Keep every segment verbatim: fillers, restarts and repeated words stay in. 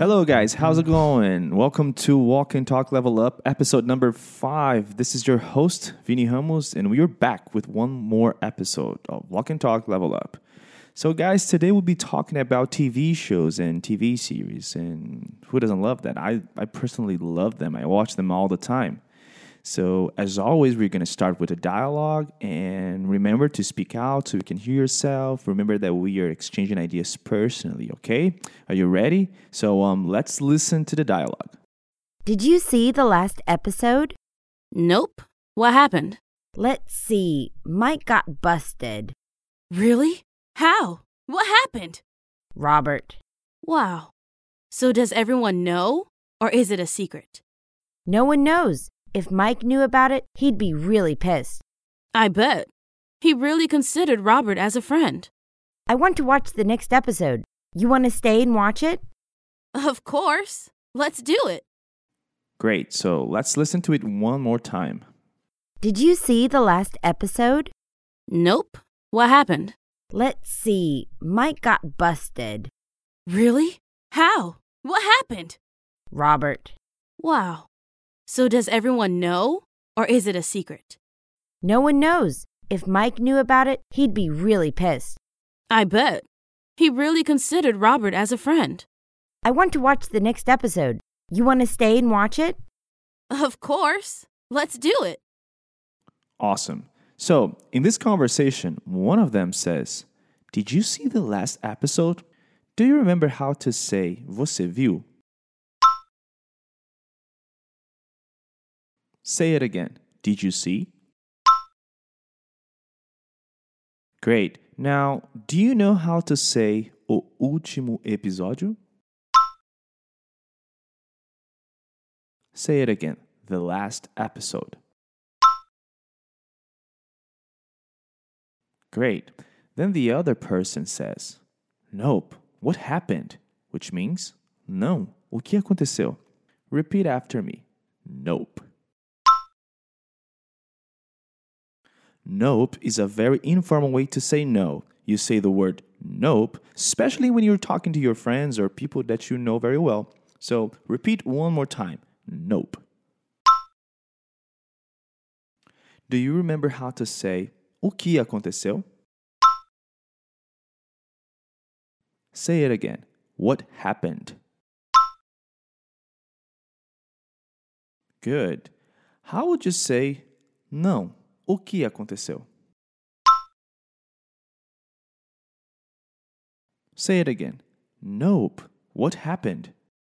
Hello guys, how's it going? Welcome to Walk and Talk Level Up, episode number five. This is your host, Vini Ramos, and we are back with one more episode of Walk and Talk Level Up. So guys, today we'll be talking about T V shows and T V series, and who doesn't love that? I, I personally love them. I watch them all the time. So as always, we're going to start with a dialogue, and remember to speak out so you can hear yourself. Remember that we are exchanging ideas personally, okay? Are you ready? So um, let's listen to the dialogue. Did you see the last episode? Nope. What happened? Let's see. Mike got busted. Really? How? What happened? Robert. Wow. So does everyone know, or is it a secret? No one knows. If Mike knew about it, he'd be really pissed. I bet. He really considered Robert as a friend. I want to watch the next episode. You want to stay and watch it? Of course. Let's do it. Great. So let's listen to it one more time. Did you see the last episode? Nope. What happened? Let's see. Mike got busted. Really? How? What happened? Robert. Wow. So does everyone know, or is it a secret? No one knows. If Mike knew about it, he'd be really pissed. I bet. He really considered Robert as a friend. I want to watch the next episode. You want to stay and watch it? Of course. Let's do it. Awesome. So in this conversation, one of them says, "Did you see the last episode? Do you remember how to say você viu?" Say it again. Did you see? Great. Now, do you know how to say o último episódio? Say it again. The last episode. Great. Then the other person says, "Nope. What happened?" Which means, não. O que aconteceu? Repeat after me. Nope. Nope is a very informal way to say no. You say the word nope, especially when you're talking to your friends or people that you know very well. So repeat one more time. Nope. Do you remember how to say o que aconteceu? Say it again. What happened? Good. How would you say não? O que aconteceu? Say it again. Nope. What happened?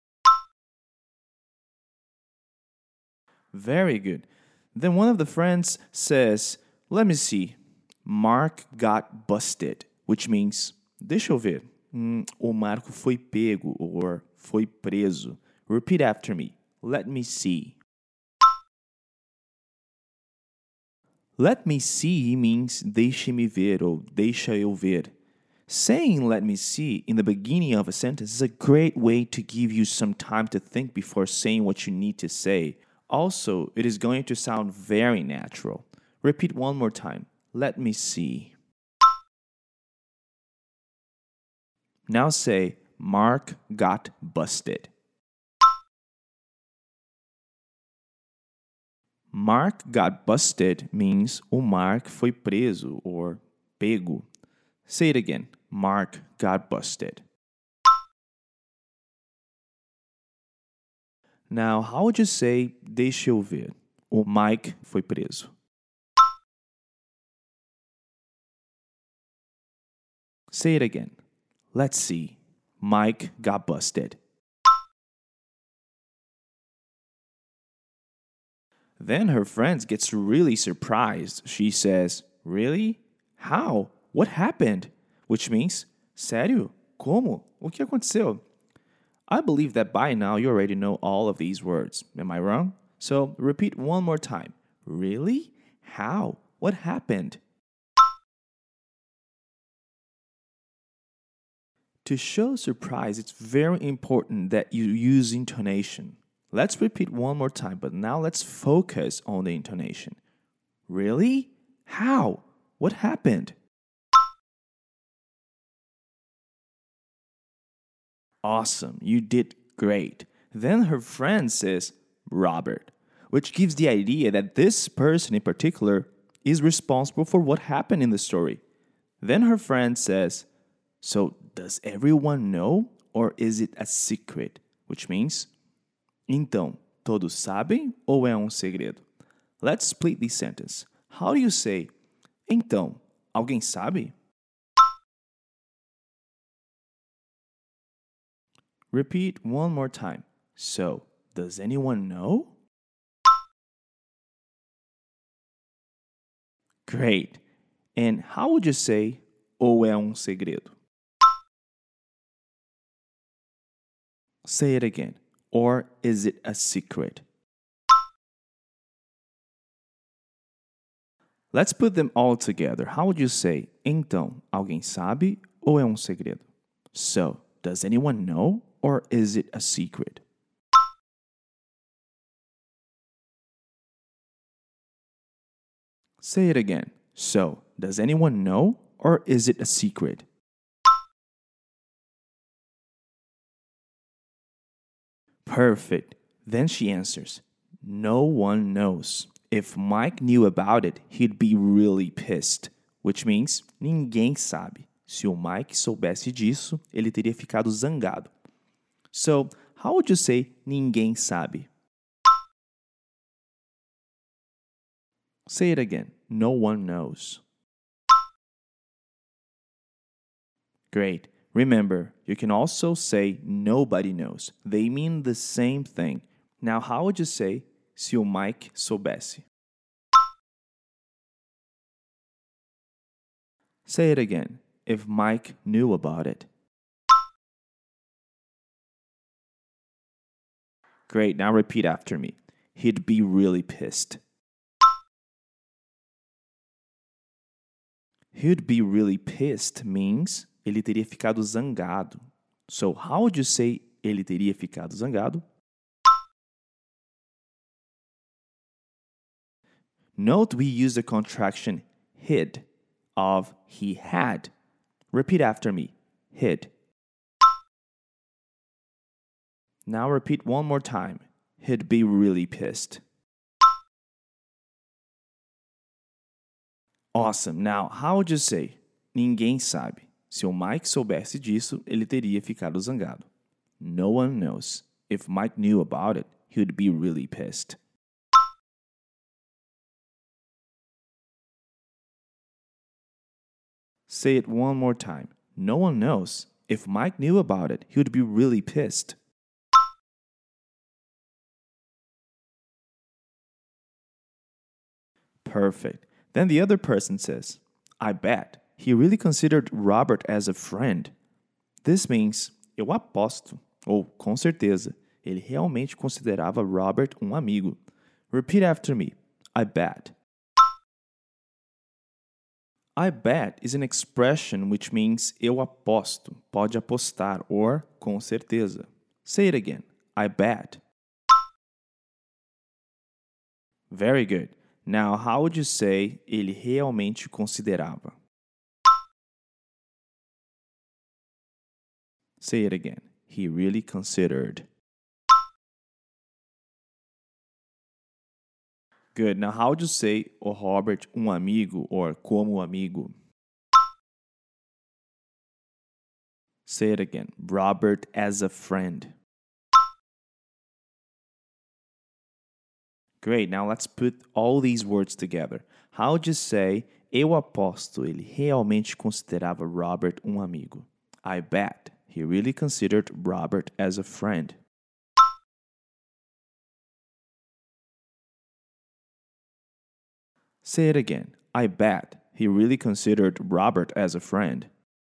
Very good. Then one of the friends says, "Let me see. Mark got busted," which means, deixa eu ver. Hum, o Marco foi pego or foi preso. Repeat after me. Let me see. Let me see means deixe-me ver ou deixa eu ver. Saying let me see in the beginning of a sentence is a great way to give you some time to think before saying what you need to say. Also, it is going to sound very natural. Repeat one more time. Let me see. Now say, Mark got busted. Mark got busted means o Mark foi preso or pego. Say it again. Mark got busted. Now, how would you say deixa eu ver? O Mike foi preso. Say it again. Let's see. Mike got busted. Then her friend gets really surprised. She says, "Really? How? What happened?" Which means, sério? Como? O que aconteceu? I believe that by now you already know all of these words. Am I wrong? So repeat one more time. Really? How? What happened? To show surprise, it's very important that you use intonation. Let's repeat one more time, but now let's focus on the intonation. Really? How? What happened? Awesome. You did Great. Then her friend says, Robert, which gives the idea that this person in particular is responsible for what happened in the story. Then her friend says, so does everyone know or is it a secret? Which means, então, todos sabem ou é um segredo? Let's split this sentence. How do you say, então, alguém sabe? Repeat one more time. So, does anyone know? Great. And how would you say, ou é um segredo? Say it again. Or is it a secret? Let's put them all together. How would you say, então, alguém sabe ou é um segredo? So, does anyone know or is it a secret? Say it again. So, does anyone know or is it a secret? Perfect. Then she answers, no one knows. If Mike knew about it, he'd be really pissed. Which means, ninguém sabe. Se o Mike soubesse disso, ele teria ficado zangado. So, how would you say ninguém sabe? Say it again. No one knows. Great. Remember, you can also say nobody knows. They mean the same thing. Now, how would you say se o Mike soubesse? Say it again. If Mike knew about it. Great. Now repeat after me. He'd be really pissed. He'd be really pissed means ele teria ficado zangado. So, how would you say ele teria ficado zangado? Note we use the contraction hid of he had. Repeat after me. Hid. Now repeat one more time. He'd be really pissed. Awesome. Now, how would you say? Ninguém sabe. Se o Mike soubesse disso, ele teria ficado zangado. No one knows. If Mike knew about it, he would be really pissed. Say it one more time. No one knows. If Mike knew about it, he would be really pissed. Perfect. Then the other person says, I bet he really considered Robert as a friend. This means, eu aposto, ou com certeza, ele realmente considerava Robert um amigo. Repeat after me. I bet. I bet is an expression which means eu aposto, pode apostar, or com certeza. Say it again. I bet. Very good. Now, how would you say ele realmente considerava? Say it again. He really considered. Good. Now, how would you say o Robert um amigo or como amigo? Say it again. Robert as a friend. Great. Now, let's put all these words together. How would you say eu aposto ele realmente considerava Robert um amigo? I bet he really considered Robert as a friend. Say it again. I bet he really considered Robert as a friend.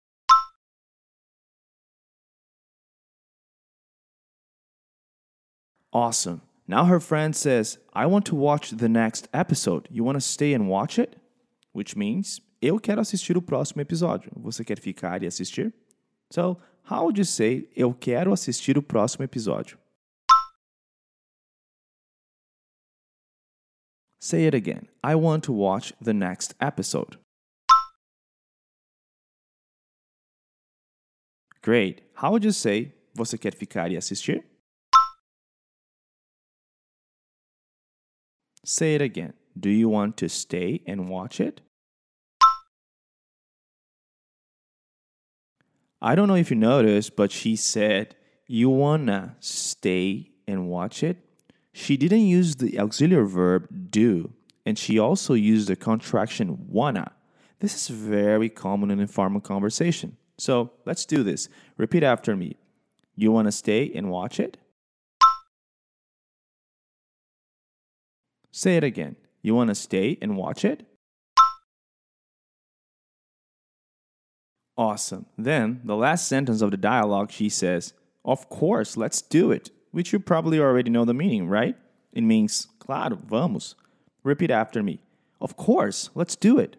Awesome. Now her friend says, I want to watch the next episode. You want to stay and watch it? Which means, eu quero assistir o próximo episódio. Você quer ficar e assistir? So, how would you say, eu quero assistir o próximo episódio? Say it again. I want to watch the next episode. Great. How would you say, você quer ficar e assistir? Say it again. Do you want to stay and watch it? I don't know if you noticed, but she said, you wanna stay and watch it? She didn't use the auxiliary verb do, and she also used the contraction wanna. This is very common in informal conversation. So let's do this. Repeat after me. You wanna stay and watch it? Say it again. You wanna stay and watch it? Awesome. Then, the last sentence of the dialogue, she says, of course, let's do it. Which you probably already know the meaning, right? It means, claro, vamos. Repeat after me. Of course, let's do it.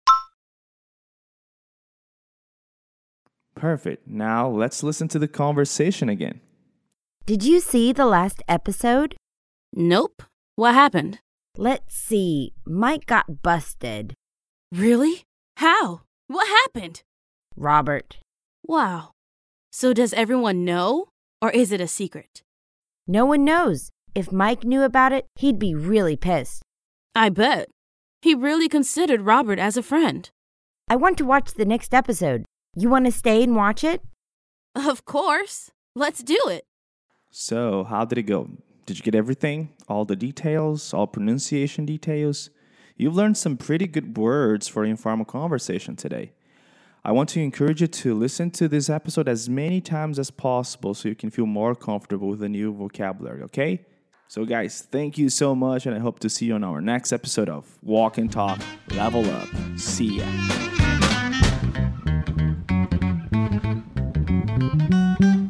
Perfect. Now, let's listen to the conversation again. Did you see the last episode? Nope. What happened? Let's see. Mike got busted. Really? How? What happened? Robert. Wow. So does everyone know, or is it a secret? No one knows. If Mike knew about it, he'd be really pissed. I bet. He really considered Robert as a friend. I want to watch the next episode. You want to stay and watch it? Of course. Let's do it. So, how did it go? Did you get everything? All the details? All pronunciation details? You've learned some pretty good words for informal conversation today. I want to encourage you to listen to this episode as many times as possible so you can feel more comfortable with the new vocabulary, okay? So guys, thank you so much, and I hope to see you on our next episode of Walk and Talk Level Up. See ya.